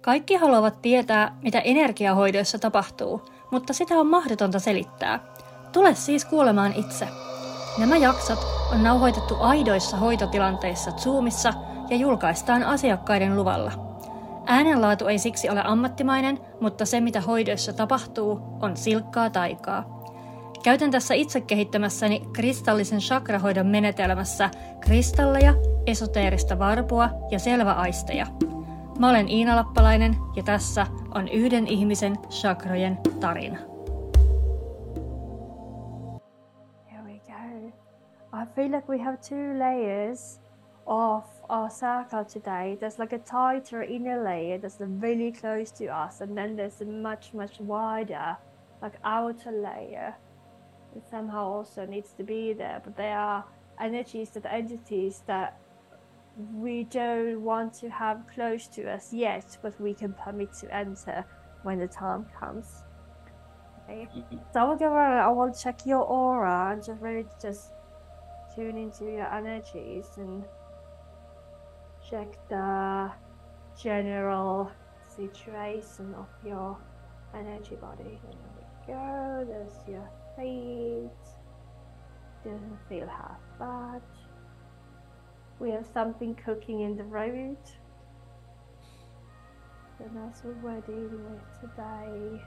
Kaikki haluavat tietää, mitä energiahoidoissa tapahtuu, mutta sitä on mahdotonta selittää. Tule siis kuulemaan itse. Nämä jaksot on nauhoitettu aidoissa hoitotilanteissa Zoomissa ja julkaistaan asiakkaiden luvalla. Äänenlaatu ei siksi ole ammattimainen, mutta se mitä hoidoissa tapahtuu on silkkaa taikaa. Käytän tässä itse kehittämässäni kristallisen chakrahoidon menetelmässä kristalleja, esoteerista varpua ja selväaisteja. Mä olen Iina Lappalainen ja tässä on yhden ihmisen chakrojen tarina. Here we go. I feel like we have two layers of our circle today. There's like a tighter inner layer that's really close to us, and then there's a much wider, like outer layer that somehow also needs to be there. But there are entities that we don't want to have close to us yet, but we can permit to enter when the time comes. Okay. So I will go around, I will check your aura and just really tune into your energies and check the general situation of your energy body. There we go, there's your feet. Doesn't feel half bad. We have something cooking in the road. And that's what we're dealing with today.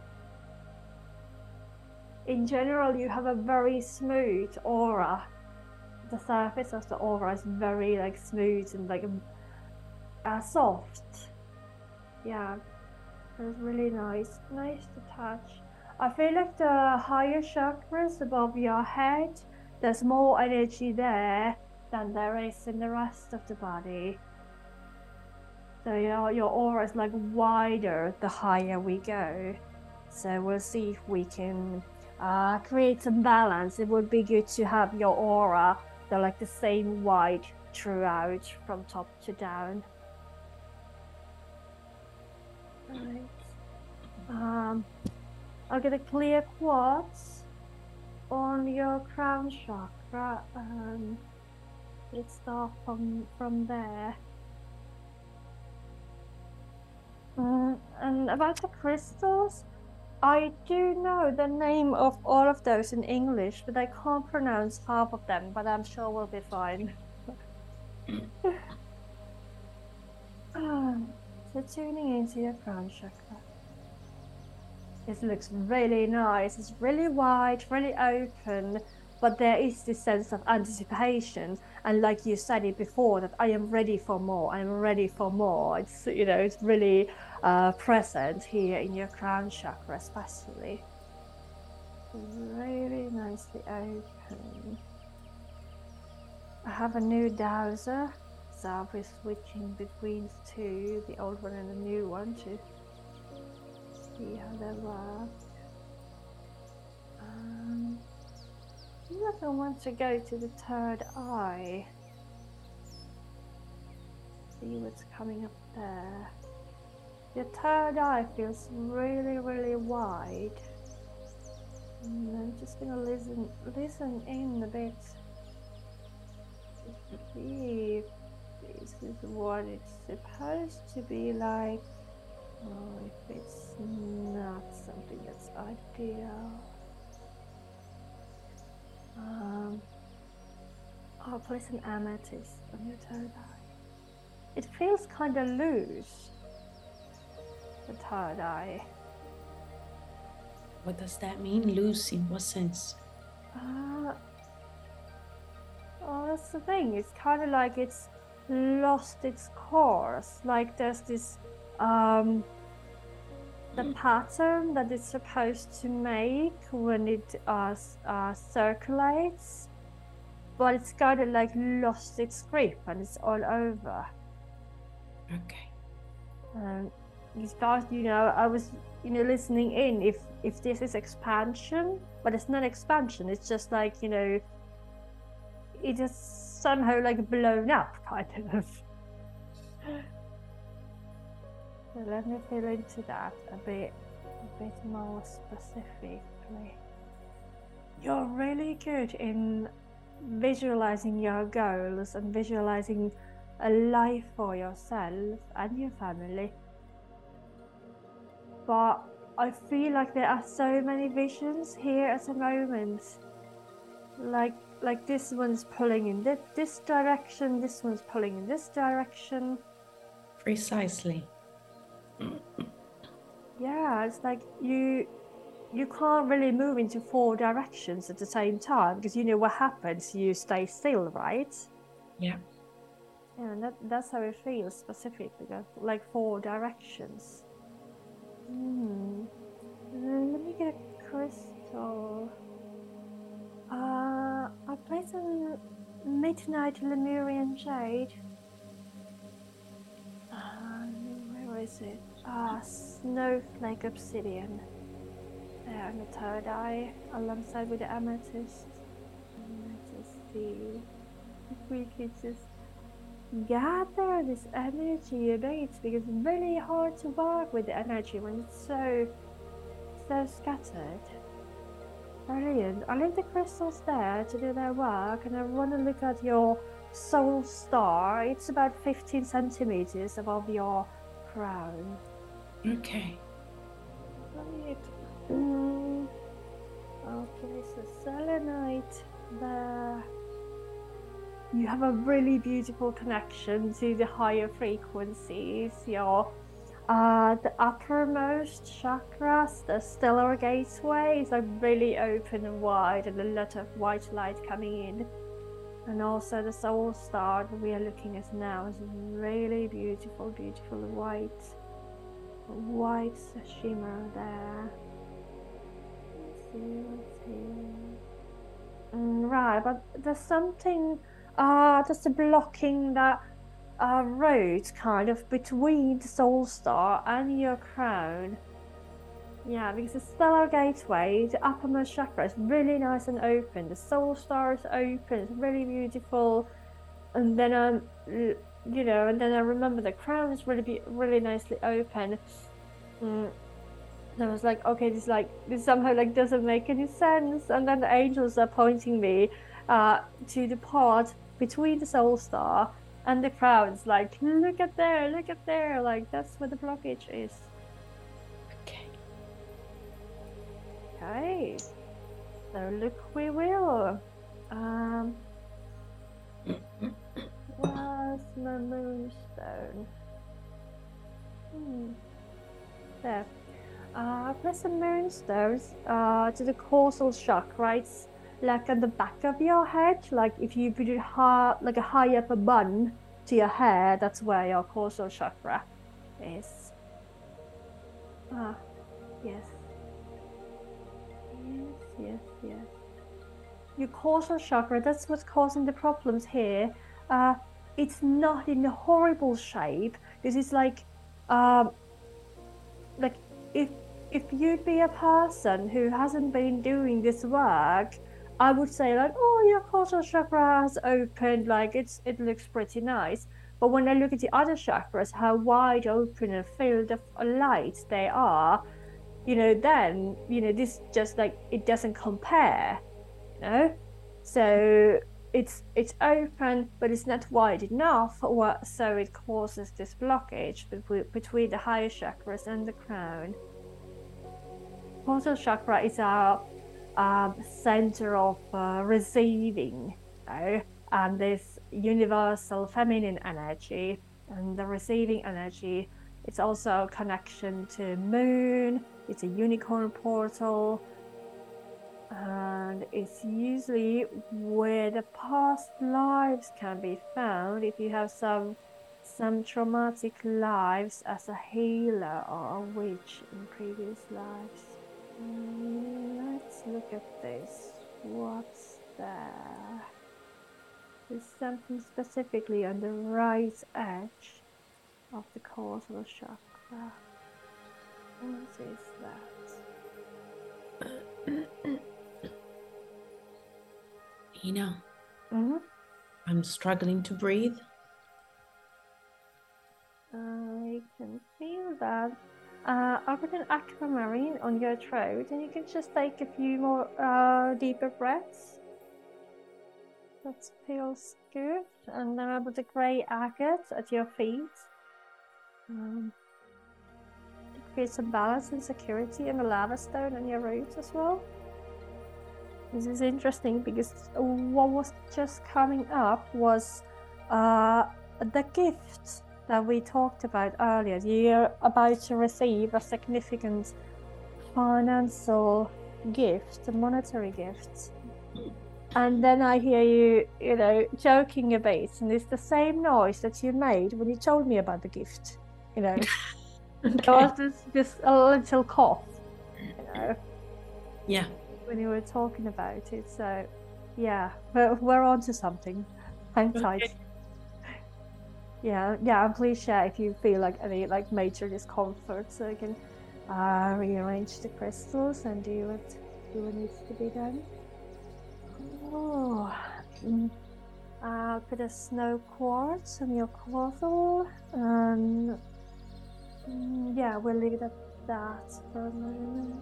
In general, you have a very smooth aura. The surface of the aura is very smooth and soft. Yeah, it's really nice to touch. I feel like the higher chakras above your head, there's more energy there than there is in the rest of the body. So your aura is wider the higher we go. So we'll see if we can create some balance. It would be good to have your aura the same wide throughout from top to down. Right. I'll get a clear quartz on your crown chakra. Let's start from there. And about the crystals, I do know the name of all of those in English, but I can't pronounce half of them, but I'm sure we'll be fine. So tuning into your crown chakra. This looks really nice. It's really wide, really open, but there is this sense of anticipation. And like you said it before, that I am ready for more. I'm ready for more. It's it's really present here in your crown chakra, especially. Really nicely open. I have a new dowser, so I'll be switching between the two, the old one and the new one, to see how they work. I want to go to the third eye. See what's coming up there. Your third eye feels really wide. And I'm just gonna listen in a bit. See if this is what it's supposed to be like, or if it's not something that's ideal. I'll place an amethyst on your third eye. It feels kind of loose, the third eye. What does that mean, loose? In what sense? That's the thing. It's kind of like it's lost its course. Like there's this the pattern that it's supposed to make when it circulates, but it's kind of lost its grip and it's all over. Okay. You start, I was, listening in if this is expansion, but it's not expansion. It's just it just somehow blown up, kind of. So let me feel into that a bit more specifically. You're really good in visualizing your goals and visualizing a life for yourself and your family. but I feel like there are so many visions here at the moment. Like this one's pulling in this direction, this one's pulling in this direction. Precisely. Yeah, it's like you can't really move into 4 directions at the same time because you know what happens. You stay still, right? Yeah. Yeah, and that's how it feels specifically, like 4 directions. Let me get a crystal. I'll play some Midnight Lemurian Jade. Where is it? Snowflake Obsidian. There on the third eye, alongside with the amethyst. Let's just see if we could just gather this energy a bit, because it's really hard to work with the energy when it's so scattered. Brilliant. I'll leave the crystals there to do their work, and I want to look at your soul star. It's about 15 centimeters above your crown. Okay. Right. I'll place a selenite there. You have a really beautiful connection to the higher frequencies. Your the uppermost chakras, the stellar gateways, are really open and wide, and a lot of white light coming in. And also the soul star that we are looking at now is really beautiful, beautiful white shimmer there. Let's see what's here. Right, but there's something just blocking that road kind of between the soul star and your crown. Yeah, because the stellar gateway, the uppermost chakra, is really nice and open. The soul star is open, it's really beautiful. And then and then I remember the crown is really nicely open. And I was like, okay, this somehow doesn't make any sense. And then the angels are pointing me to the part between the soul star and the crown. It's like, look at there, like that's where the blockage is. Okay, so look we will. Where's my moonstone? There. Place some moonstones to the causal chakra. It's like at the back of your head. Like if you put it like a high up a bun to your hair, that's where your causal chakra is. Yes. Yes. Your causal chakra, that's what's causing the problems here. It's not in a horrible shape. This is like if you'd be a person who hasn't been doing this work, I would say like, oh, your causal chakra has opened, like it looks pretty nice. But when I look at the other chakras, how wide open and filled of light they are, then this just like it doesn't compare, So it's open, but it's not wide enough, so it causes this blockage between the higher chakras and the crown. Causal chakra is our center of receiving, and this universal feminine energy, and the receiving energy. It's also a connection to moon. It's a unicorn portal. And it's usually where the past lives can be found if you have some traumatic lives as a healer or a witch in previous lives. Let's look at this. What's there? There's something specifically on the right edge of the causal chakra. What is that? Ina, I'm struggling to breathe. I can feel that. I'll put an aquamarine on your throat, and you can just take a few more deeper breaths. That feels good. And then I'll put a grey agate at your feet. The feel some balance and security in the lava stone on your roots as well. This is interesting because what was just coming up was the gift that we talked about earlier. You're about to receive a significant financial gift, a monetary gift. And then I hear you, joking a bit, and it's the same noise that you made when you told me about the gift. Okay. There was just a little cough, Yeah. when you were talking about it. So, yeah, we're on to something. Hang tight. Okay. Yeah, and please share if you feel like any major discomfort, so you can rearrange the crystals and do what needs to be done. Oh, I'll put a snow quartz on your cortal, and yeah, we'll leave it at that for a moment.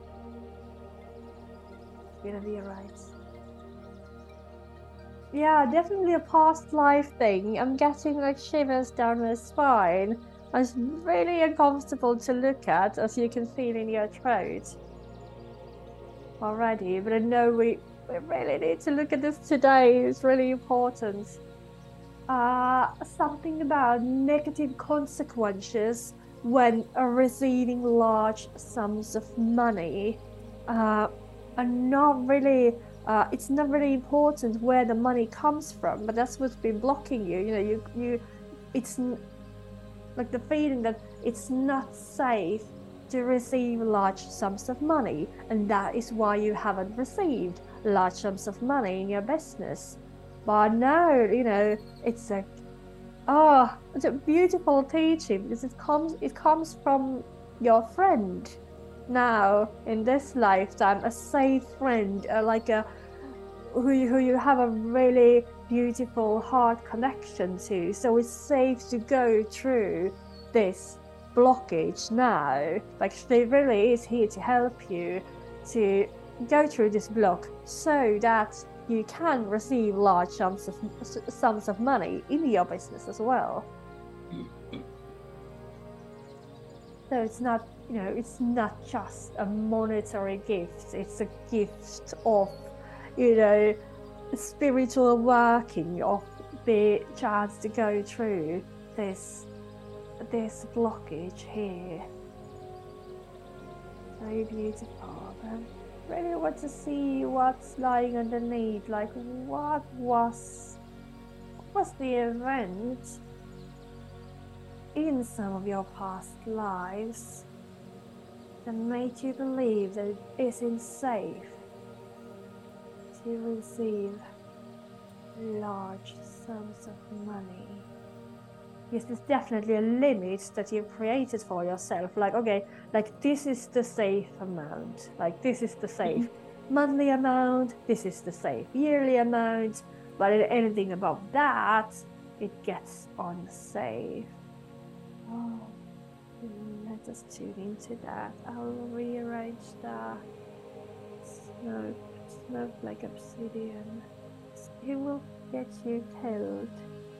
It's gonna be alright. Yeah, definitely a past life thing. I'm getting shivers down my spine. It's really uncomfortable to look at, as you can feel in your throat already, but I know we really need to look at this today. It's really important. Something about negative consequences when receiving large sums of money. And not really, it's not really important where the money comes from, but that's what's been blocking you. It's like the feeling that it's not safe to receive large sums of money, and that is why you haven't received large sums of money in your business. But no, it's it's a beautiful teaching, because it comes from your friend. Now in this lifetime, a safe friend, who you have a really beautiful heart connection to. So it's safe to go through this blockage now. She really is here to help you to go through this block, so that you can receive large sums of money in your business as well. So it's not, it's not just a monetary gift. It's a gift of, spiritual working, of the chance to go through this blockage here. Very beautiful. I really want to see what's lying underneath. What was the event in some of your past lives that made you believe that it isn't safe to receive large sums of money? Yes, there's definitely a limit that you've created for yourself. This is the safe amount. This is the safe monthly amount. This is the safe yearly amount. But anything above that, it gets unsafe. Oh, let us tune into that. I'll rearrange the snowflake obsidian. It will get you killed.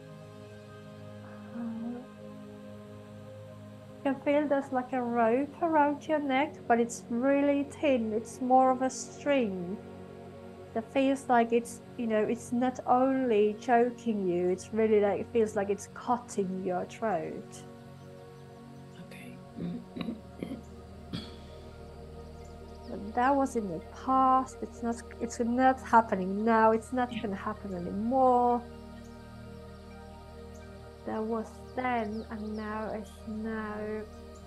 You can feel there's a rope around your neck, but it's really thin. It's more of a string that feels like it's not only choking you, it's really it feels like it's cutting your throat. Okay. But that was in the past. It's not happening now. It's not going to happen anymore. That was then, and now is now.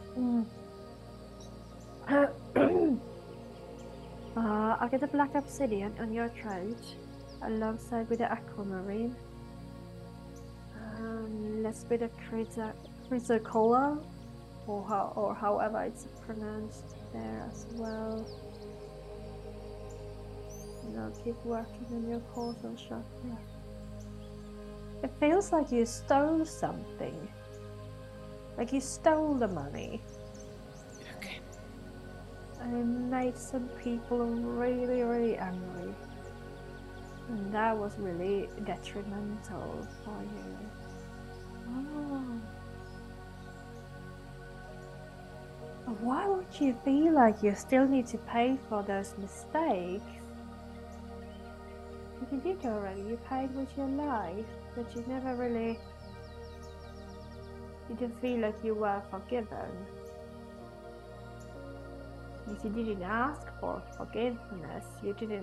I'll get a black obsidian on your throat, alongside with the aquamarine. Let's put a chrysocolla, or however it's pronounced there as well. And I'll keep working on your causal chakra. It feels like you stole something. Like you stole the money. Okay. And it made some people really, really angry. And that was really detrimental for you. But why would you feel like you still need to pay for those mistakes? If you did already, you paid with your life, but you never really... You didn't feel like you were forgiven. If you didn't ask for forgiveness, you didn't,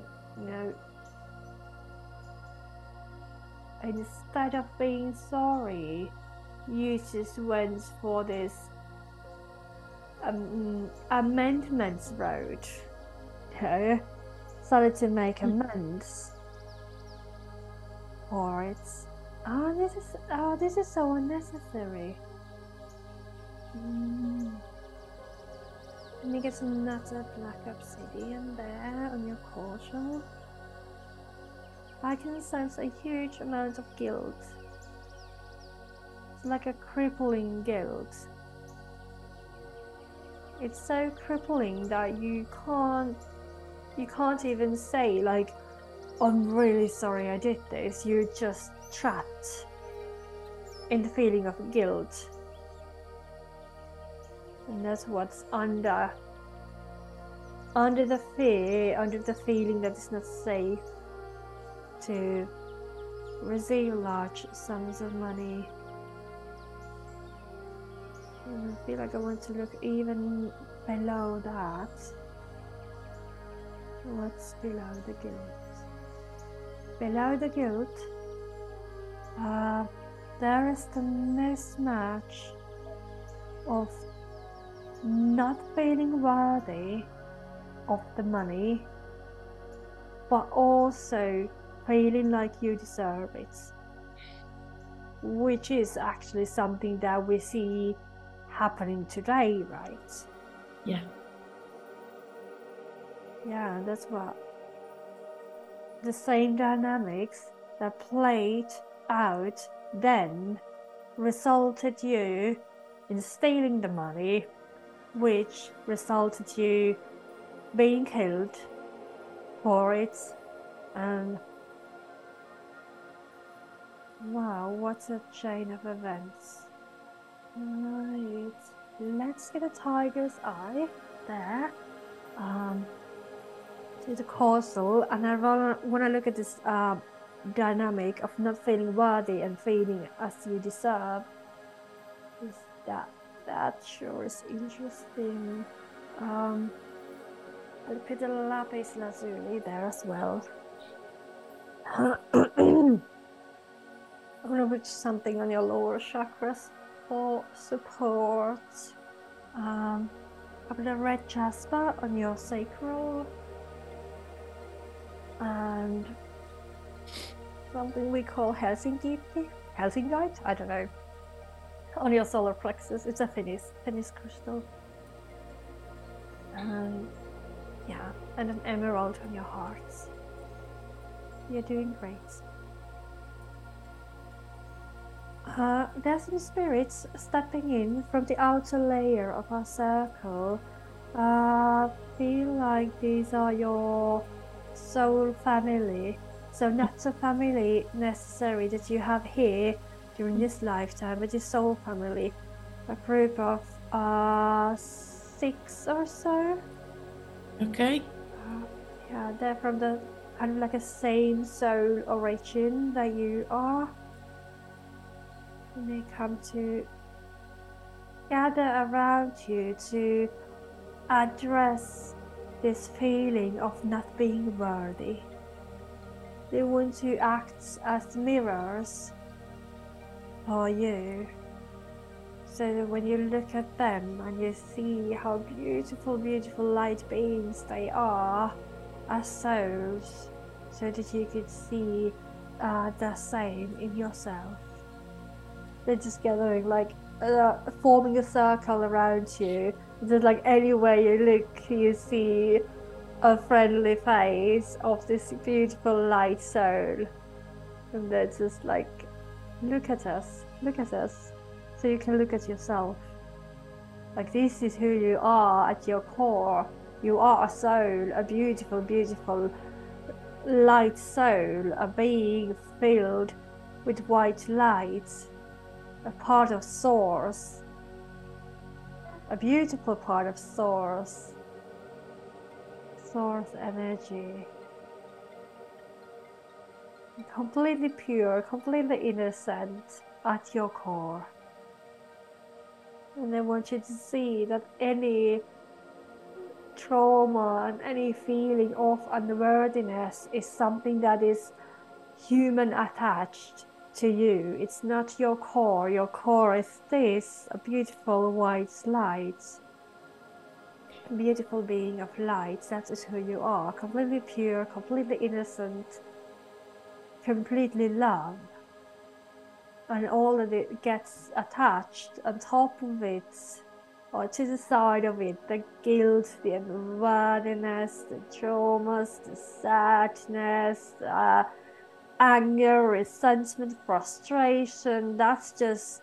instead of being sorry, you just went for this amendments road. Started to make amends for it. This is so unnecessary. Let me get some nutter black obsidian there on your cordial. I can sense a huge amount of guilt. It's like a crippling guilt. It's so crippling that you can't even say like, I'm really sorry I did this. You're just trapped in the feeling of guilt. And that's what's under the fear, under the feeling that it's not safe to receive large sums of money. And I feel like I want to look even below that. What's below the guilt? Below the guilt, there is the mismatch of not feeling worthy of the money, but also feeling like you deserve it, which is actually something that we see happening today, right? Yeah. Yeah, that's what the same dynamics that played out then resulted you in stealing the money, which resulted you being killed for it. And wow, what a chain of events. Right, let's get a tiger's eye there to the castle, and I want to look at this dynamic of not feeling worthy and feeling as you deserve. Is that sure is interesting. I'll put the lapis lazuli there as well. I'm gonna put something on your lower chakras for support. I put a red jasper on your sacral, and something we call Helsingite, I don't know, on your solar plexus. It's a Finnish crystal. And yeah, and an emerald on your hearts. You're doing great. There's some spirits stepping in from the outer layer of our circle. Feel like these are your soul family. So not a family necessary that you have here during this lifetime, but your soul family. A group of 6 or so. Okay. Yeah, they're from the kind of like a same soul origin that you are. And they come to gather around you to address this feeling of not being worthy. They want to act as mirrors for you. So that when you look at them and you see how beautiful, beautiful light beings they are as souls, so that you could see the same in yourself. They're just gathering, like forming a circle around you. Just like anywhere you look, you see a friendly face of this beautiful light soul, and they're just like, look at us, so you can look at yourself. Like, this is who you are at your core. You are a soul, a beautiful, beautiful light soul, a being filled with white light, a part of source. a beautiful part of source energy. Completely pure, completely innocent at your core. And I want you to see that any trauma and any feeling of unworthiness is something that is human attached to you. It's not your core. Your core is this, a beautiful white light. A beautiful being of light. That is who you are. Completely pure, completely innocent, completely love. And all that it gets attached on top of it, or to the side of it, the guilt, the unworthiness, the traumas, the sadness, anger, resentment, frustration, that's just,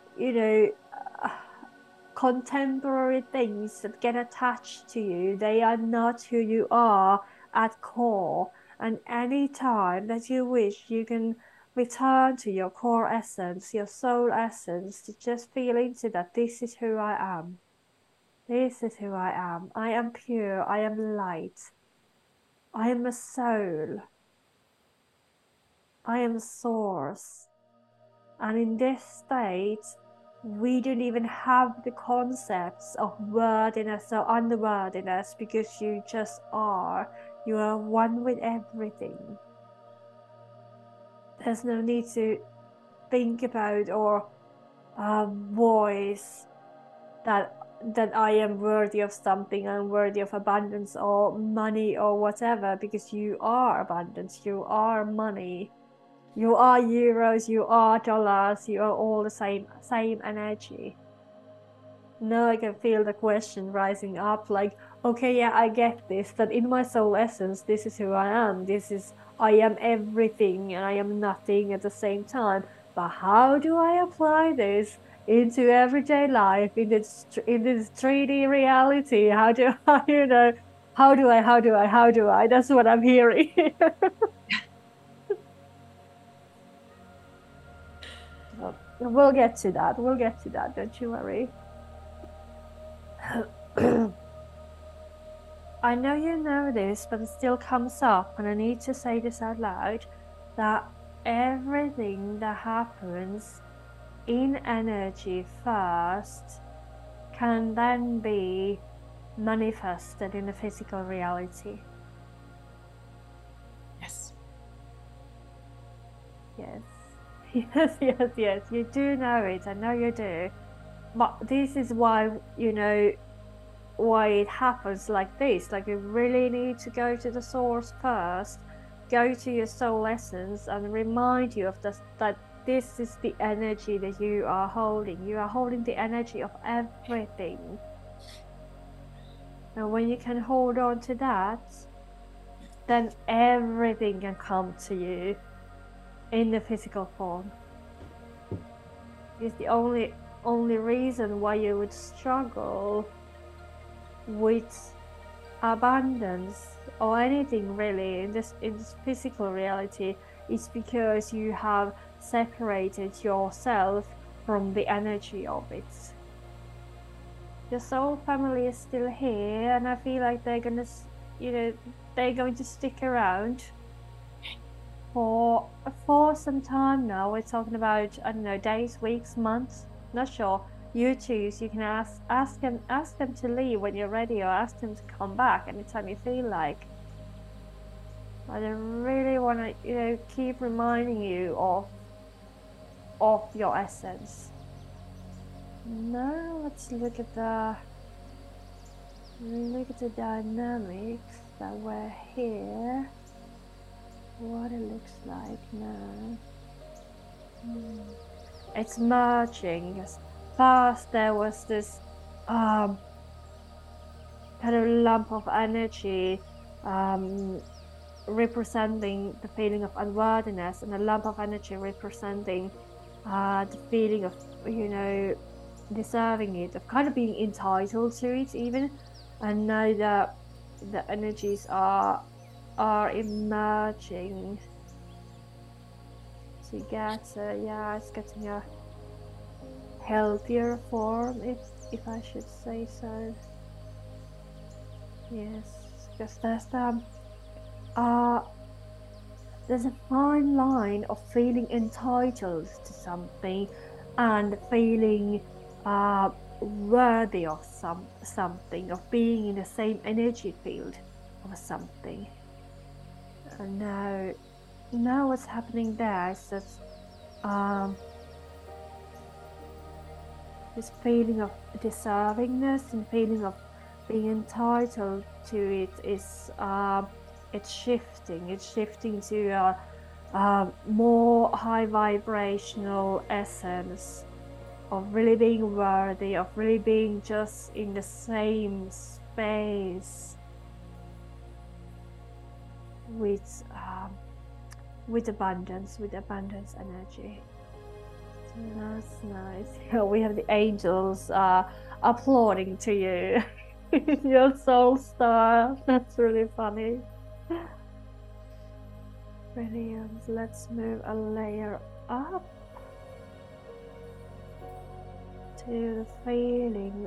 contemporary things that get attached to you. They are not who you are at core. And any time that you wish, you can return to your core essence, your soul essence, to just feel into that this is who I am. This is who I am. I am pure. I am light. I am a soul. I am source. And in this state, we don't even have the concepts of worthiness or unworthiness, because you just are. You are one with everything. There's no need to think about or voice that I am worthy of something, I'm worthy of abundance or money or whatever, because you are abundance, you are money, you are euros, you are dollars, you are all the same energy. Now I can feel the question rising up, like, okay, yeah, I get this, that in my soul essence, this is who I am. I am everything and I am nothing at the same time. But how do I apply this into everyday life, in this 3D reality? How do I, how do I? That's what I'm hearing. We'll get to that. Don't you worry. I know you know this, but it still comes up, and I need to say this out loud, that everything that happens in energy first can then be manifested in the physical reality. Yes. Yes, you do know it, I know you do. But this is why, why it happens like this. Like, you really need to go to the source first, go to your soul essence, and remind you of this, that this is the energy that you are holding. You are holding the energy of everything. And when you can hold on to that, then everything can come to you in the physical form. It's the only reason why you would struggle with abundance or anything really in this physical reality is because you have separated yourself from the energy of it. Your soul family is still here, and I feel like they're going to stick around for some time now. We're talking about, I don't know, days, weeks, months, not sure. You choose. You can ask them to leave when you're ready, or ask them to come back anytime you feel like. I really want to, keep reminding you of your essence. Now let's look at the dynamics that were here. What it looks like now. It's merging. First there was this kind of lump of energy representing the feeling of unworthiness, and a lump of energy representing the feeling of, deserving it, of kind of being entitled to it even. And now that the energies are emerging together. Yeah, it's getting a healthier form, if I should say so. Yes, because there's a fine line of feeling entitled to something and feeling worthy of something, of being in the same energy field of something. And now what's happening there is that this feeling of deservingness and feeling of being entitled to it is it's shifting to a more high vibrational essence of really being worthy, of really being just in the same space with abundance energy. So that's nice. We have the angels applauding to you. Your soul star. That's really funny. Brilliant. Let's move a layer up to the feeling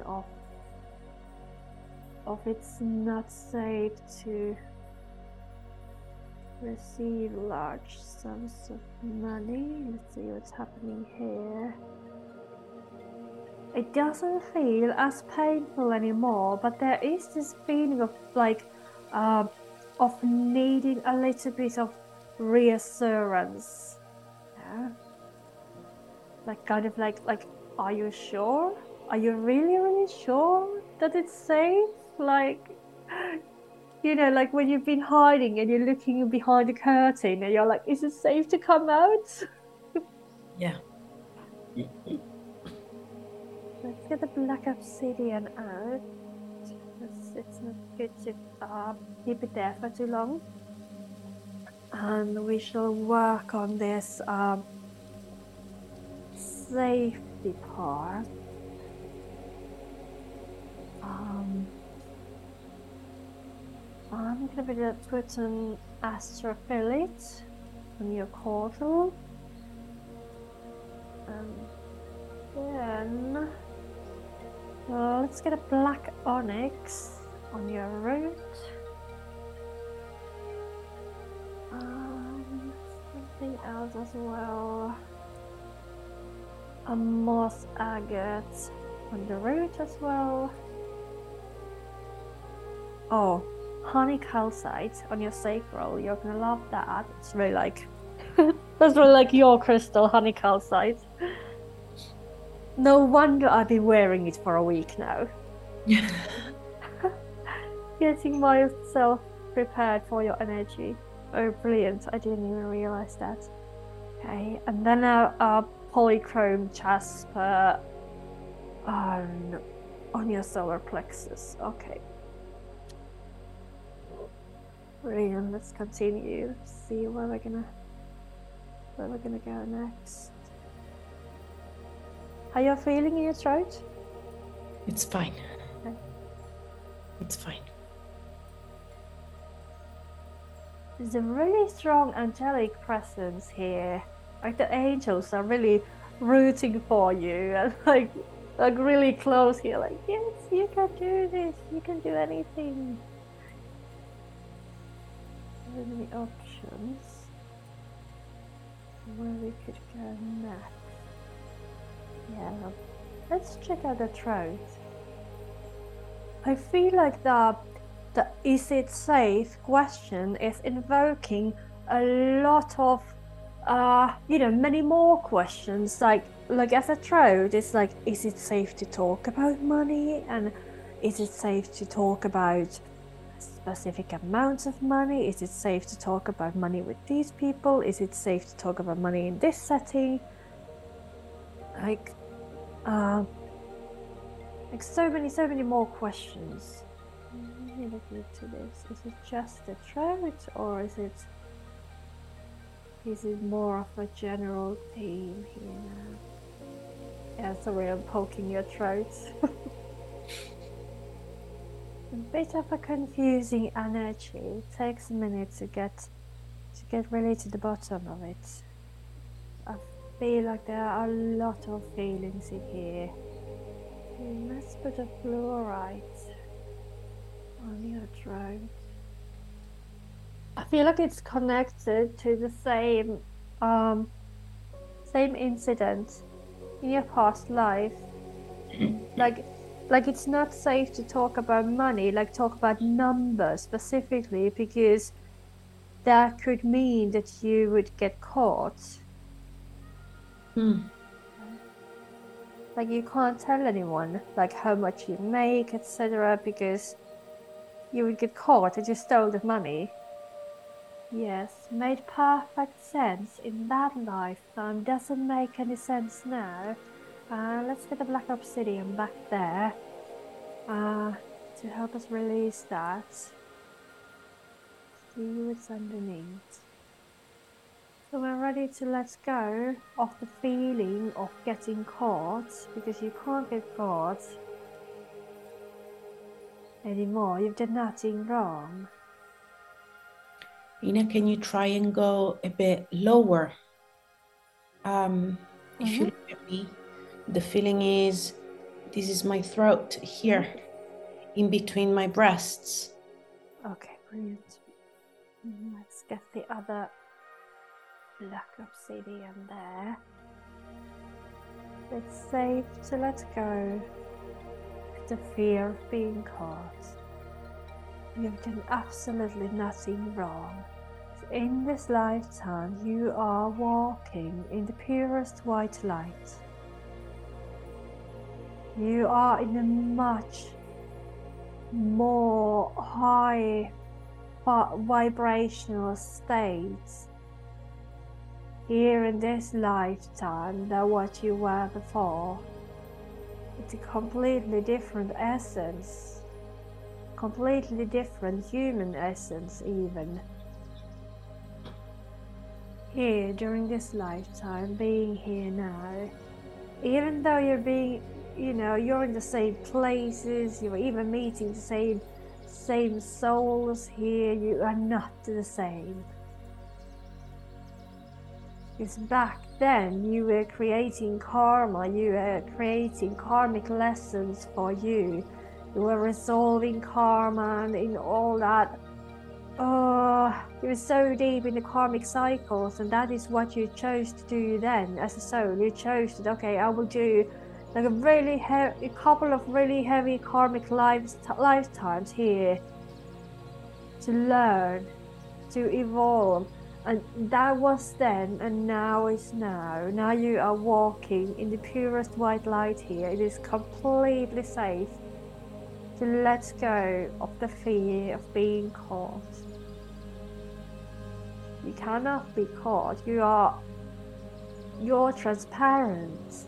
of it's not safe to receive large sums of money. Let's see what's happening here. It doesn't feel as painful anymore, but there is this feeling of of needing a little bit of reassurance. Yeah. Like, are you sure? Are you really sure that it's safe? Like, like when you've been hiding and you're looking behind the curtain and you're like, is it safe to come out? Yeah. Let's get the black obsidian out. It's not good to keep it there for too long. And we shall work on this safety part. I'm gonna put an astrophyllite on your portal. And then let's get a black onyx on your root. Something else as well. A moss agate on the root as well. Oh, honey calcite on your sacral. You're gonna love that. It's really like that's really like your crystal, honey calcite. No wonder I've been wearing it for a week now. Getting myself prepared for your energy. Oh, brilliant. I didn't even realize that. Okay, and then a polychrome jasper on your solar plexus. Okay. Brilliant. Let's continue. See where we're gonna go next. How you feeling in your throat? It's fine. Okay. It's fine. There's a really strong angelic presence here. Like the angels are really rooting for you and like really close here. Like, yes, you can do this. You can do anything. So many options where we could go next. Yeah, let's check out the throat. I feel like the is it safe question is invoking a lot of many more questions. Like as a throat, it's like, is it safe to talk about money? And is it safe to talk about specific amounts of money? Is it safe to talk about money with these people? Is it safe to talk about money in this setting? Like so many more questions. Let me look into this. Is it just a throat, or is it more of a general theme here? Yeah, sorry, I'm poking your throat. A bit of a confusing energy. It takes a minute to get really to the bottom of it. I feel like there are a lot of feelings in here. Let's put a fluorite on your throat. I feel like it's connected to the same incident in your past life. Like it's not safe to talk about money, like talk about numbers specifically, because that could mean that you would get caught. Like you can't tell anyone like how much you make, etc., because you would get caught that you stole the money. Yes, made perfect sense in that lifetime. Doesn't make any sense now. Let's get the black obsidian back there to help us release that. See what's underneath. So we're ready to let go of the feeling of getting caught, because you can't get caught anymore. You've done nothing wrong. Ina, can you try and go a bit lower? If you look at me, the feeling is, this is my throat here, in between my breasts. Okay, brilliant. Let's get the other black obsidian there. It's safe to let go of the fear of being caught. You've done absolutely nothing wrong. In this lifetime, you are walking in the purest white light. You are in a much more high vibrational state here in this lifetime than what you were before. It's a completely different essence, completely different human essence even. Here during this lifetime, being here now, even though you're being, you're in the same places, you're even meeting the same souls here, you are not the same. Because back then you were creating karma, you were creating karmic lessons for you. You were resolving karma and in all that. You were so deep in the karmic cycles, and that is what you chose to do then as a soul. You chose that, okay, I will do like a couple of really heavy karmic lifetimes here to learn, to evolve. And that was then, and now is now. Now you are walking in the purest white light here. It is completely safe to let go of the fear of being caught. You cannot be caught. You're transparent.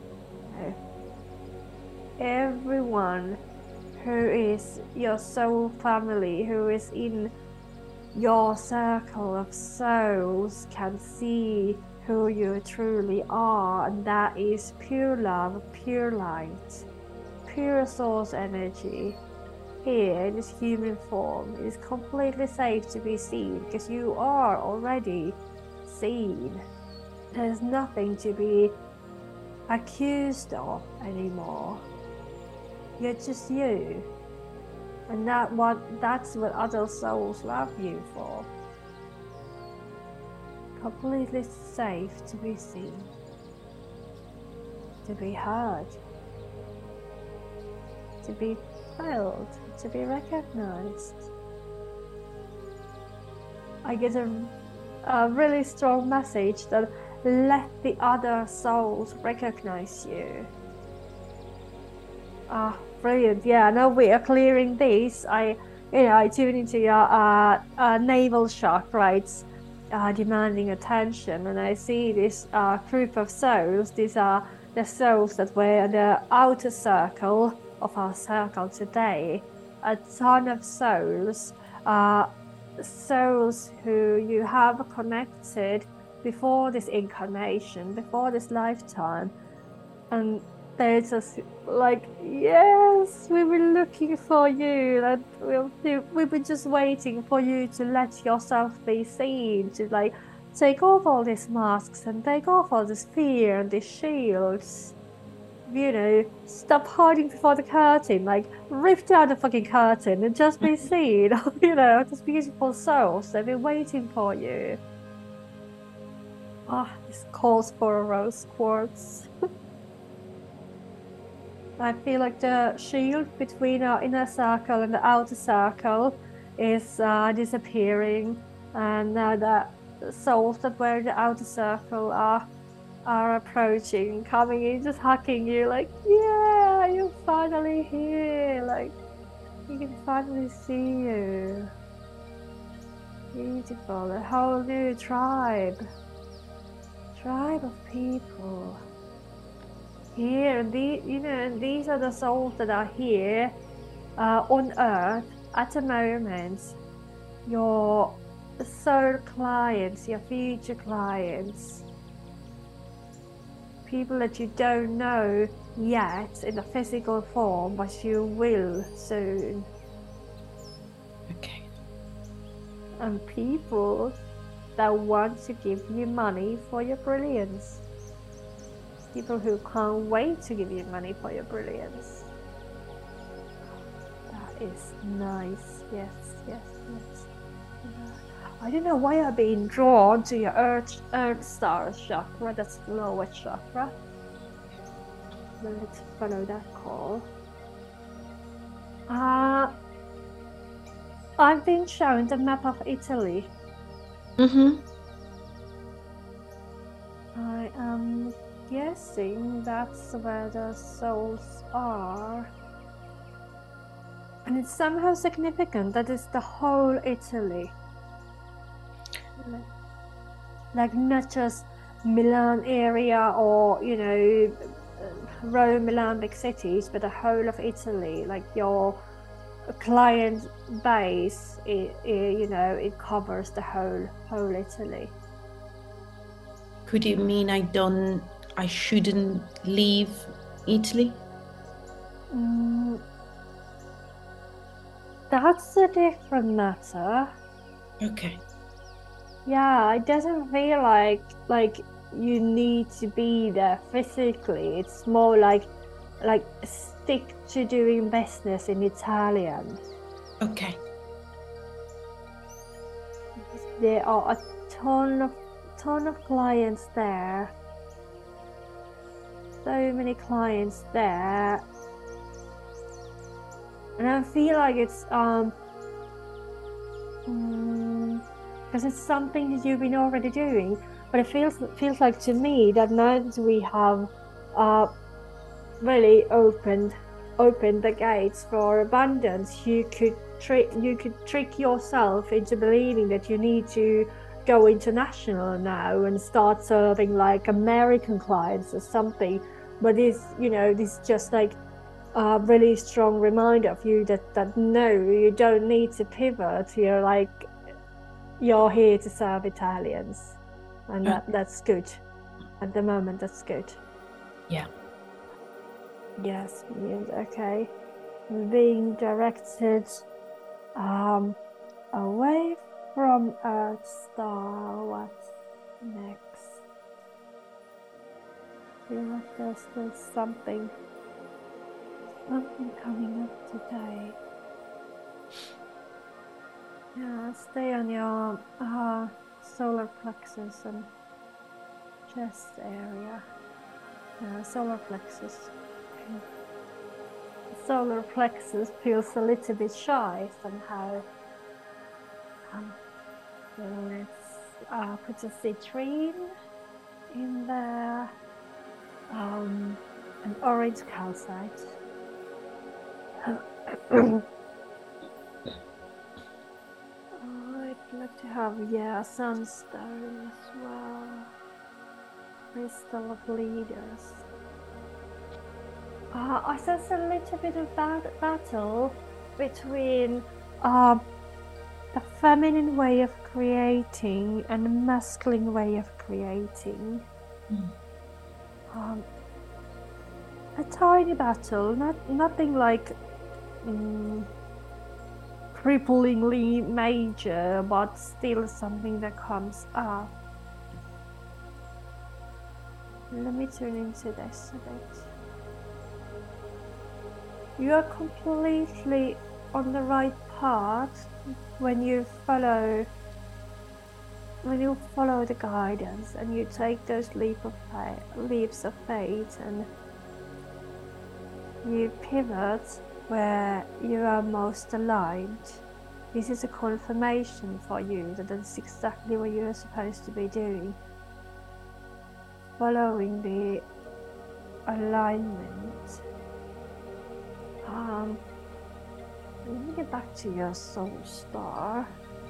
Everyone who is your soul family, who is in your circle of souls, can see who you truly are, and that is pure love, pure light, pure source energy. Here in this human form, it is completely safe to be seen because you are already seen. There's nothing to be accused of anymore. You're just you. And that's what other souls love you for. Completely safe to be seen, to be heard, to be felt, to be recognized. I get a really strong message that let the other souls recognize you. Brilliant. Yeah, now we are clearing these. I tune into your navel chakras, demanding attention, and I see this group of souls. These are the souls that were in the outer circle of our circle today. A ton of souls, souls who you have connected before this incarnation, before this lifetime, and they're just like, yes, we were looking for you, and we were just waiting for you to let yourself be seen, to like take off all these masks and take off all this fear and these shields. stop hiding before the curtain, like rip down the fucking curtain and just be seen, these beautiful souls. They've been waiting for you. This calls for a rose quartz. I feel like the shield between our inner circle and the outer circle is disappearing, and now the souls that were in the outer circle are approaching, coming in, just hugging you, like, yeah, you're finally here, like, we can finally see you. Beautiful, a whole new tribe of people here, and these are the souls that are here on Earth at the moment. Your soul clients, your future clients, people that you don't know yet in a physical form, but you will soon. Okay. And people that want to give you money for your brilliance. People who can't wait to give you money for your brilliance. That is nice. Yes. I don't know why I've been drawn to your Earth Star chakra. That's the lowest chakra. Let's follow that call. I've been shown the map of Italy. Mm-hmm. I am guessing that's where the souls are. And it's somehow significant that it's the whole Italy. Like not just Milan area or, Rome, Milan, big cities, but the whole of Italy. Like your client base, it covers the whole Italy. Could it mean I shouldn't leave Italy? That's a different matter. Okay. Yeah, it doesn't feel like you need to be there physically. It's more like stick to doing business in Italian. Okay. There are a ton of clients there. So many clients there. And I feel like it's because it's something that you've been already doing, but it feels like to me that now that we have really opened the gates for abundance, you could trick yourself into believing that you need to go international now and start serving like American clients or something. But this is just like a really strong reminder of you that no, you don't need to pivot. You're here to serve Italians, and that's good. At the moment, that's good. Yeah. Yes, okay. Being directed away from Earth Star. What's next? I feel like there's still something coming up today. Yeah, stay on your solar plexus and chest area. Solar plexus. Solar plexus feels a little bit shy somehow. So let's put a citrine in there. An orange calcite. I'd like to have, sunstone as well. Crystal of leaders. I sense a little bit of battle between a feminine way of creating and a masculine way of creating. A tiny battle, nothing like cripplingly major, but still something that comes up. Let me turn into this a bit. you are completely on the right path when you follow the guidance and you take those leaps of faith and you pivot where you are most aligned. This is a confirmation for you that that's exactly what you're supposed to be doing. Following the alignment. Let me get back to your soul star.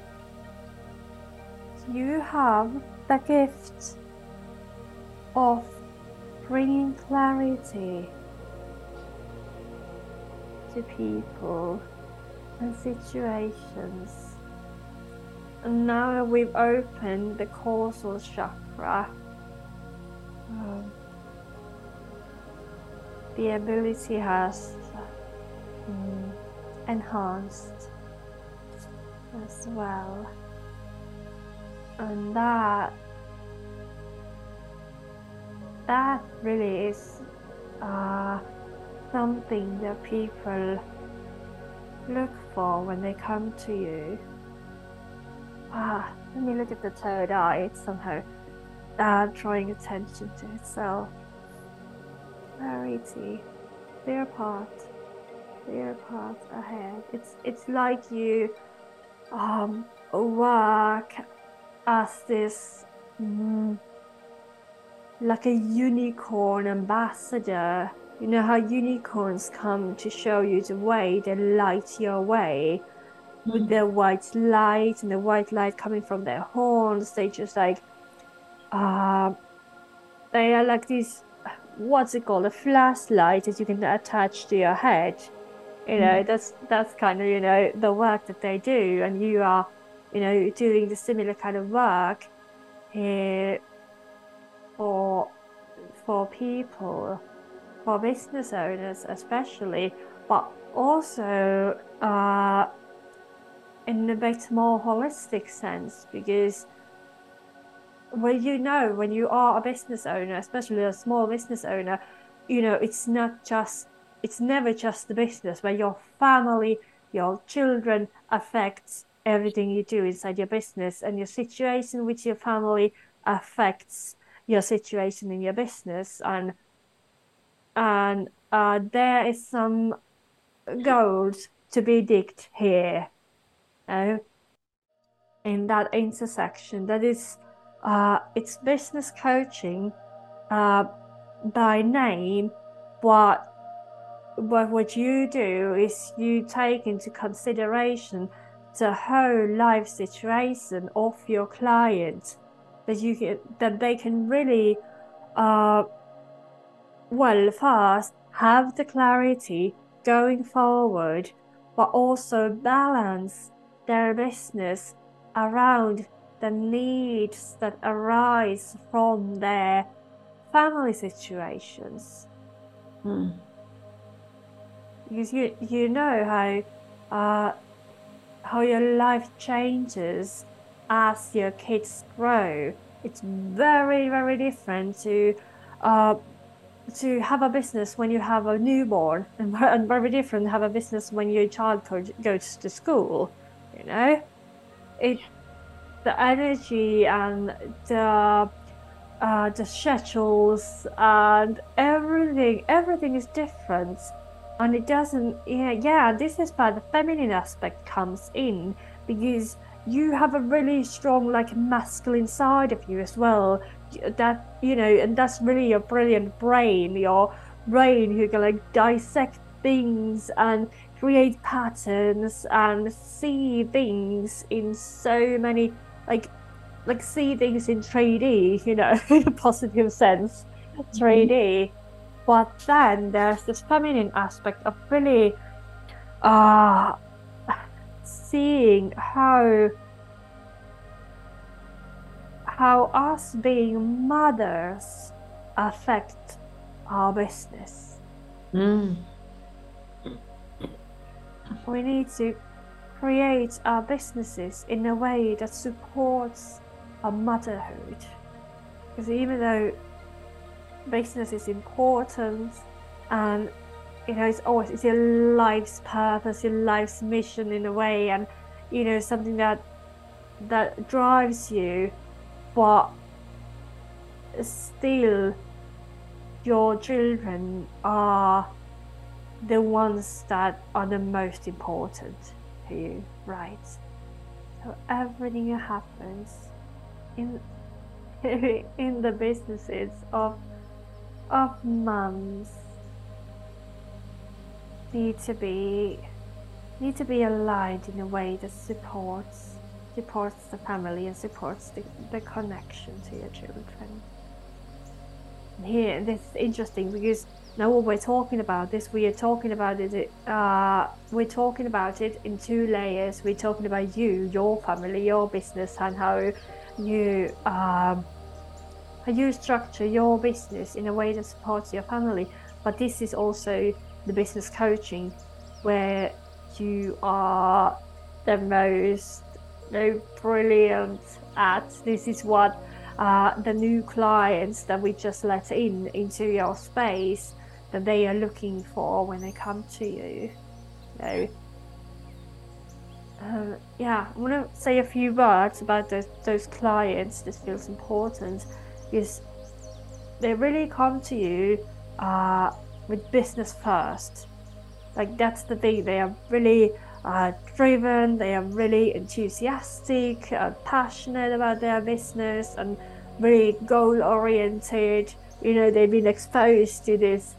You have the gift of bringing clarity to people and situations. And now we've opened the causal chakra. The ability has enhanced as well. And that really is something that people look for when they come to you. Let me look at the third eye. It's somehow drawing attention to itself. Clarity, clear path ahead. It's like you work as this like a unicorn ambassador. You know how unicorns come to show you the way, they light your way with their white light, and the white light coming from their horns. They just like they are like these, what's it called, a flashlight that you can attach to your head. You know, that's kind of, you know, the work that they do, and you are, you know, doing the similar kind of work here for people, for business owners especially, but also in a bit more holistic sense, because when you are a business owner, especially a small business owner, you know, it's never just the business, but your family, your children affects everything you do inside your business, and your situation with your family affects your situation in your business, and there is some gold to be digged here, in that intersection. That is, it's business coaching by name, but what you do is you take into consideration the whole life situation of your client, that they can really first have the clarity going forward, but also balance their business around the needs that arise from their family situations. Because you know how your life changes as your kids grow. It's very, very different to have a business when you have a newborn, and very different to have a business when your child goes to school. You know, the energy and the schedules and everything is different. And it doesn't, this is where the feminine aspect comes in, because you have a really strong, like, masculine side of you as well, that, you know, and that's really your brilliant brain, who can, like, dissect things and create patterns and see things in so many, like see things in 3D, you know, in a positive sense, 3D. But then there's this feminine aspect of really seeing how us being mothers affect our business. We need to create our businesses in a way that supports our motherhood. Because even though business is important and it's always, it's your life's purpose, your life's mission in a way, and something that drives you, but still your children are the ones that are the most important to you, right? So everything that happens in in the businesses of mums need to be aligned in a way that supports the family and supports the connection to your children. And here, this is interesting because now when we're talking about this, we're talking about it in two layers. We're talking about you, your family, your business, and how you structure your business in a way that supports your family. But this is also the business coaching, where you are the most brilliant at. This is what the new clients that we just let into your space, that they are looking for when they come to you. I want to say a few words about those clients. This feels important because they really come to you with business first. Like, that's the thing. They are really driven, they are really enthusiastic, passionate about their business, and really goal oriented. They've been exposed to this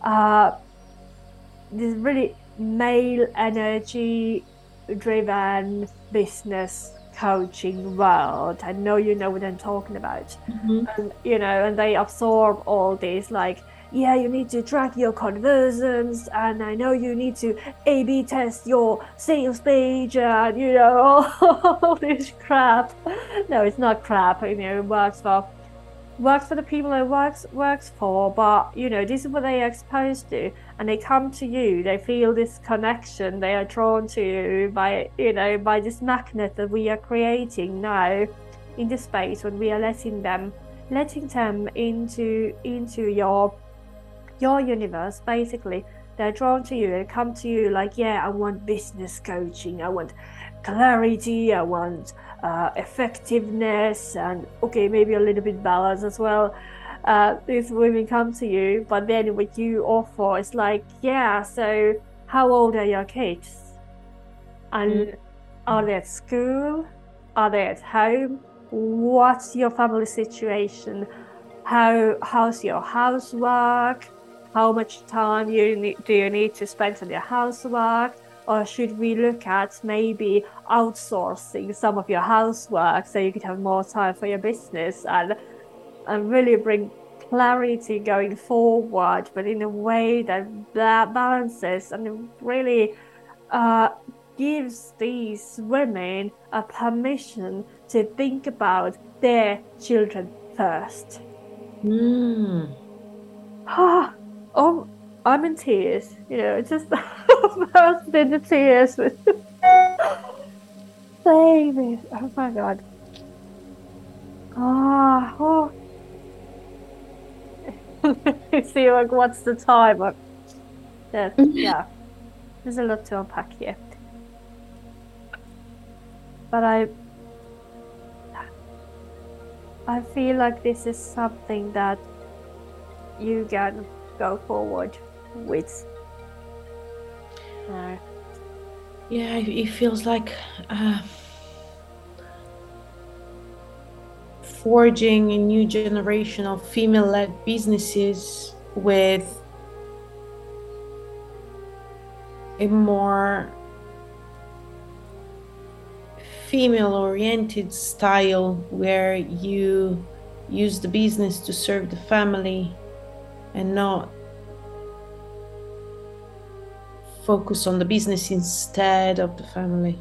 really male energy driven business coaching world. I know you know what I'm talking about. And and they absorb all this, like, you need to track your conversions, and I know you need to A/B test your sales page, and all this crap. No, it's not crap. It works for the people it works for. But this is what they are exposed to, and they come to you. They feel this connection. They are drawn to you by this magnet that we are creating now in the space, when we are letting them into your universe. Basically, they're drawn to you. They come to you like, I want business coaching, I want clarity, I want effectiveness, and maybe a little bit balance as well. These women come to you, but then what you offer is like, so how old are your kids? And are they at school? Are they at home? What's your family situation? How's your housework? How much time do you need to spend on your housework? Or should we look at maybe outsourcing some of your housework so you could have more time for your business, and really bring clarity going forward, but in a way that balances and really gives these women a permission to think about their children first. Oh, I'm in tears. Just burst into tears with baby. Oh my god. See, like, what's the time? Yeah, there's a lot to unpack here. But I feel like this is something that you can go forward with. It feels like forging a new generation of female-led businesses with a more female-oriented style, where you use the business to serve the family and not focus on the business instead of the family.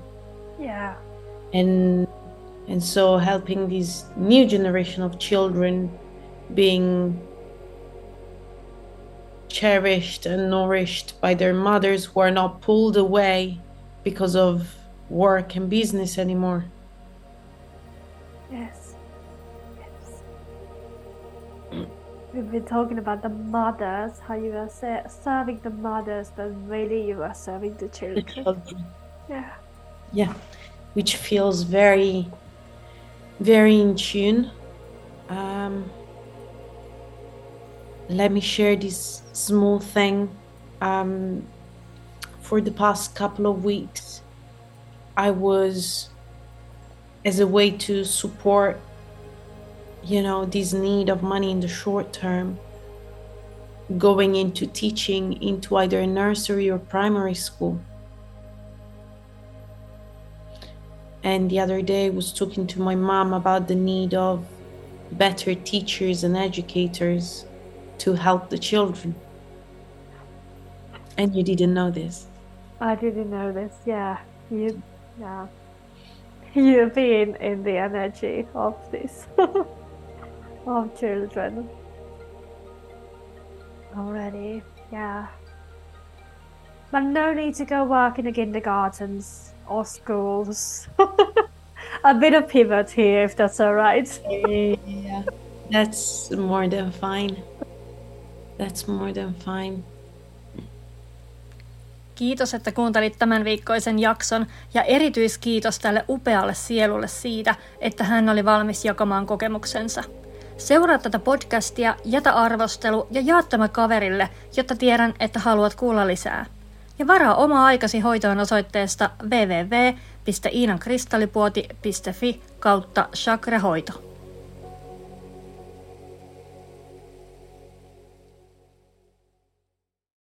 And so helping this new generation of children being cherished and nourished by their mothers, who are not pulled away because of work and business anymore. Yes. we've been talking about the mothers, how you are serving the mothers, but really you are serving the The children. children. Yeah. Yeah. Which feels very, very in tune. Let me share this small thing. For the past couple of weeks, I was, as a way to support, this need of money in the short term, going into teaching into either a nursery or primary school. And the other day I was talking to my mom about the need of better teachers and educators to help the children. And you didn't know this. I didn't know this. Yeah. You've been in the energy of this, of children already. Yeah. But no need to go work in the kindergartens or schools. A bit of pivot here, if that's all right. Yeah, that's more than fine. That's more than fine. Kiitos, että kuuntelit tämän viikkoisen jakson ja erityiskiitos tälle upealle sielulle siitä, että hän oli valmis jakamaan kokemuksensa. Seuraa tätä podcastia, jätä arvostelu ja jaa tämä kaverille, jotta tiedän, että haluat kuulla lisää. Ja varaa oma aikasi hoitoon osoitteesta www.iinankristallipuoti.fi/chakrahoito.